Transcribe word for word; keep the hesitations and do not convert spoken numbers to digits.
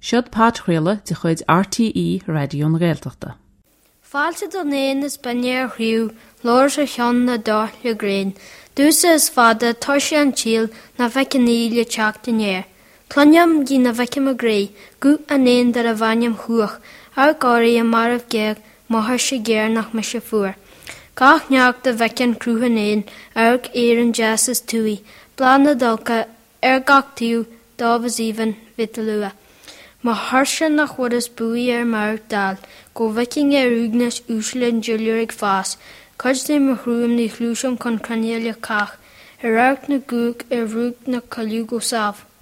Siod Pátrúile de chuid R T E Radión Gaeltachta. Fáilte do néan is banéir hriú, lóir sa cheann na dá le gréin. Dúsa is fada tá sé an tíl na bheicean íle teach den éir. Cloniam gí na bheiceam a gré, gu a néan dar a bhainiam chuach, ar gáirí a marmh geag maithir sé géir nach me se fuair. Gach neach de bheicean crútha néan, arg éireann jazz is túi, blán na dulca, ar gach tíú, dábhas ívan vitalua. Ma harsha nach wat is buí ar mar dal, go viking ar úgnas úslin juliurig fás, cuid dé mar hrúim ní chlúsam con cranélia cach, ar arc na gúg ar rúg na caliú go sáf.